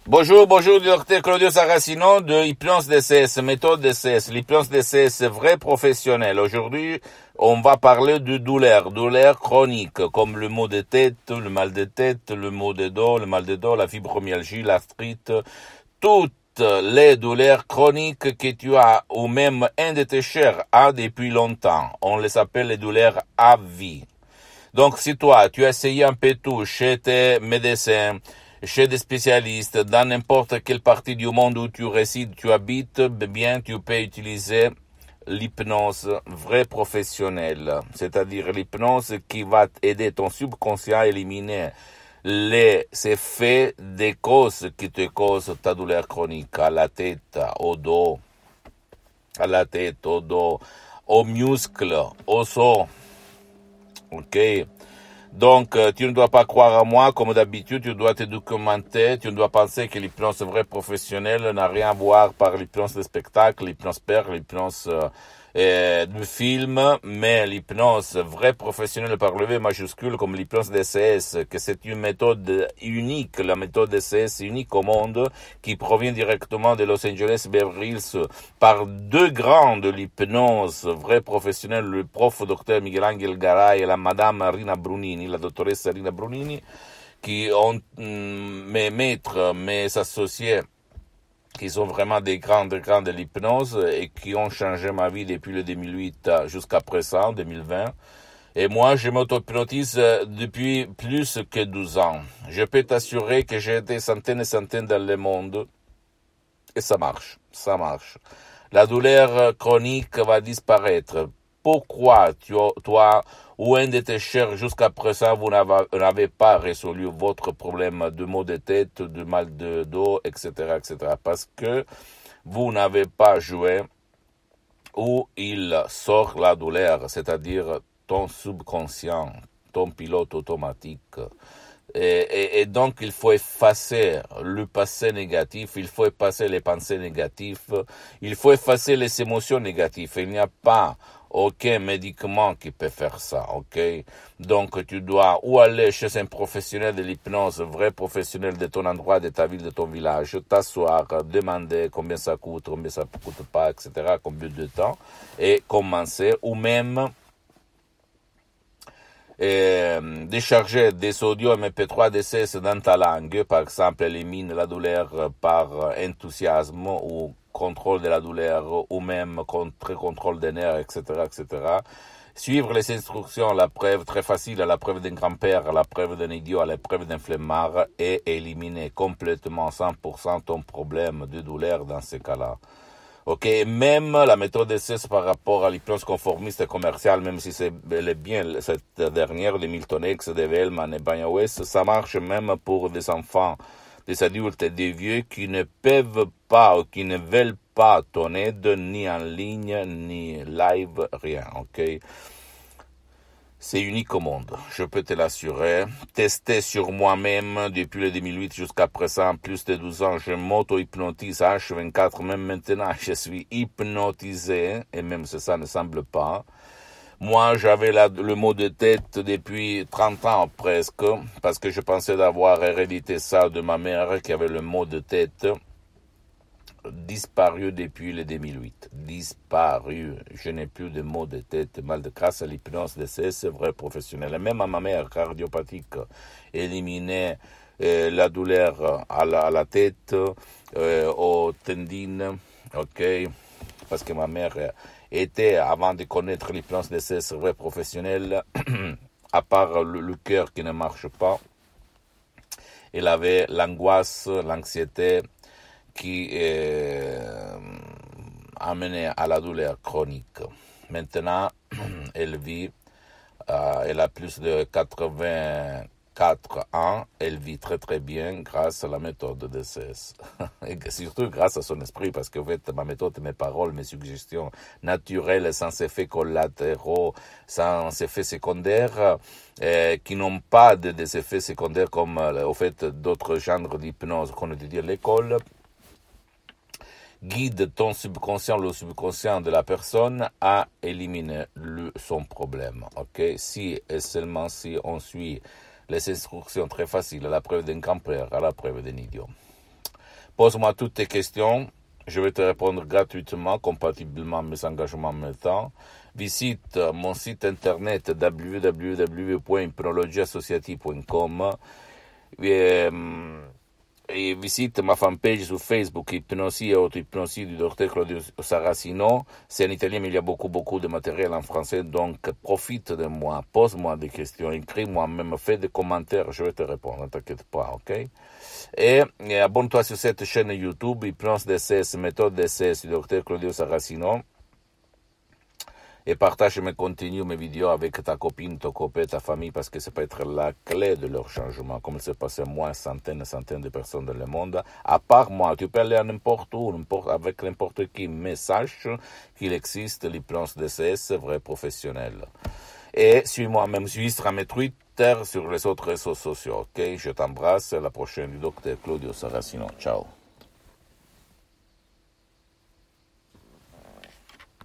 Bonjour, bonjour, docteur Claudio Saracino de Hypnose DCS, méthode DCS, l'hypnose DCS vrai professionnel. Aujourd'hui, on va parler de douleur chronique, comme le maux de tête, le mal de tête, le maux de dos, le mal de dos, la fibromyalgie, l'arthrite, toutes les douleurs chroniques que tu as ou même un de tes chers a depuis longtemps. On les appelle les douleurs à vie. Donc, si toi, tu as essayé un peu tout chez tes médecins, chez des spécialistes, dans n'importe quelle partie du monde où tu résides, tu habites, bien, tu peux utiliser l'hypnose vraie professionnelle. C'est-à-dire l'hypnose qui va aider ton subconscient à éliminer les effets des causes qui te causent ta douleur chronique à la tête, au dos, aux muscles, aux os. Ok. Donc, tu ne dois pas croire à moi, comme d'habitude, tu dois te documenter, tu ne dois penser que l'hypnose vraie professionnelle n'a rien à voir par l'hypnose de spectacle, l'hypnose père, l'hypnose de film, mais l'hypnose vraie professionnelle par le V majuscule, comme l'hypnose DCS, que c'est une méthode unique, la méthode DCS unique au monde, qui provient directement de Los Angeles Beverly Hills par deux grands de l'hypnose vraie professionnelle, le prof docteur Miguel Angel Garay et la madame Rina Brunini, la dottoressa Rina Brunini, qui ont mes maîtres, mes associés, qui sont vraiment des grands de l'hypnose et qui ont changé ma vie depuis le 2008 jusqu'à présent, 2020. Et moi, je m'auto-hypnotise depuis plus que 12 ans. Je peux t'assurer que j'ai des centaines et centaines dans le monde et ça marche. La douleur chronique va disparaître. Pourquoi toi ou un de tes chers jusqu'à présent vous n'avez pas résolu votre problème de maux de tête, de mal de dos, etc., etc. Parce que vous n'avez pas joué où il sort la douleur, c'est-à-dire ton subconscient, ton pilote automatique. Et donc, il faut effacer le passé négatif, il faut effacer les pensées négatives, il faut effacer les émotions négatives. Il n'y a pas aucun médicament qui peut faire ça, ok? Donc, tu dois ou aller chez un professionnel de l'hypnose, vrai professionnel de ton endroit, de ta ville, de ton village, t'asseoir, demander combien ça coûte pas, etc., combien de temps, et commencer, ou même décharger des audios MP3 DCS dans ta langue, par exemple, élimine la douleur par enthousiasme ou contrôle de la douleur ou même contrôle des nerfs, etc., etc. Suivre les instructions, la preuve très facile, la preuve d'un grand-père, la preuve d'un idiot, la preuve d'un flemmard et éliminer complètement 100% ton problème de douleur dans ces cas-là. Ok, même la méthode DCS par rapport à l'hypnose conformiste et commerciale, même si c'est bel et bien cette dernière de Milton X, de Vellman et Banya West, ça marche même pour des enfants, des adultes et des vieux qui ne peuvent pas ou qui ne veulent pas ton aide, ni en ligne, ni live, rien, ok? C'est unique au monde, je peux te l'assurer. Testé sur moi-même depuis le 2008 jusqu'à présent, plus de 12 ans, je m'auto-hypnotise H24, même maintenant je suis hypnotisé, et même si ça ne semble pas. Moi, j'avais le mot de tête depuis 30 ans presque, parce que je pensais d'avoir hérédité ça de ma mère qui avait le mot de tête. Disparu depuis le 2008. Disparu. Je n'ai plus de maux de tête, mal de grâce à l'hypnose c'est vrai professionnel. Et même à ma mère cardiopathique, éliminer la douleur à la tête, aux tendines, ok, parce que ma mère était, avant de connaître l'hypnose c'est vrai professionnel, à part le cœur qui ne marche pas, elle avait l'angoisse, l'anxiété, qui amenait à la douleur chronique. Maintenant, elle vit, elle a plus de 84 ans, elle vit très très bien grâce à la méthode de DCS. Et surtout grâce à son esprit, parce que en fait, ma méthode, mes paroles, mes suggestions naturelles, sans effets collatéraux, sans effets secondaires, qui n'ont pas des effets secondaires comme au fait d'autres genres d'hypnose qu'on étudie à l'école, guide ton subconscient, le subconscient de la personne à éliminer son problème. Ok, si et seulement si on suit les instructions très faciles, à la preuve d'un grand-père, à la preuve d'un idiot. Pose-moi toutes tes questions. Je vais te répondre gratuitement, compatiblement à mes engagements en même temps. Visite mon site internet www.hypnologieassociative.com et visite ma fanpage sur Facebook, Hypnosie et auto-hypnosie du docteur Claudio Saracino. C'est en italien, mais il y a beaucoup de matériel en français, donc profite de moi, pose-moi des questions, écris-moi, même fais des commentaires, je vais te répondre, ne t'inquiète pas, ok? Et abonne-toi sur cette chaîne YouTube, Hypnose DSS, méthode DSS du docteur Claudio Saracino. Et partage mes contenus, mes vidéos avec ta copine, ton copain, ta famille, parce que ça peut être la clé de leur changement. Comme il s'est passé moi, centaines de personnes dans le monde. À part moi, tu peux aller à n'importe où, avec n'importe qui, mais sache qu'il existe l'hypnose DCS vrai professionnel. Et suis-moi même sur mes Twitter, sur les autres réseaux sociaux, ok? Je t'embrasse, à la prochaine du docteur Claudio Saracino. Ciao.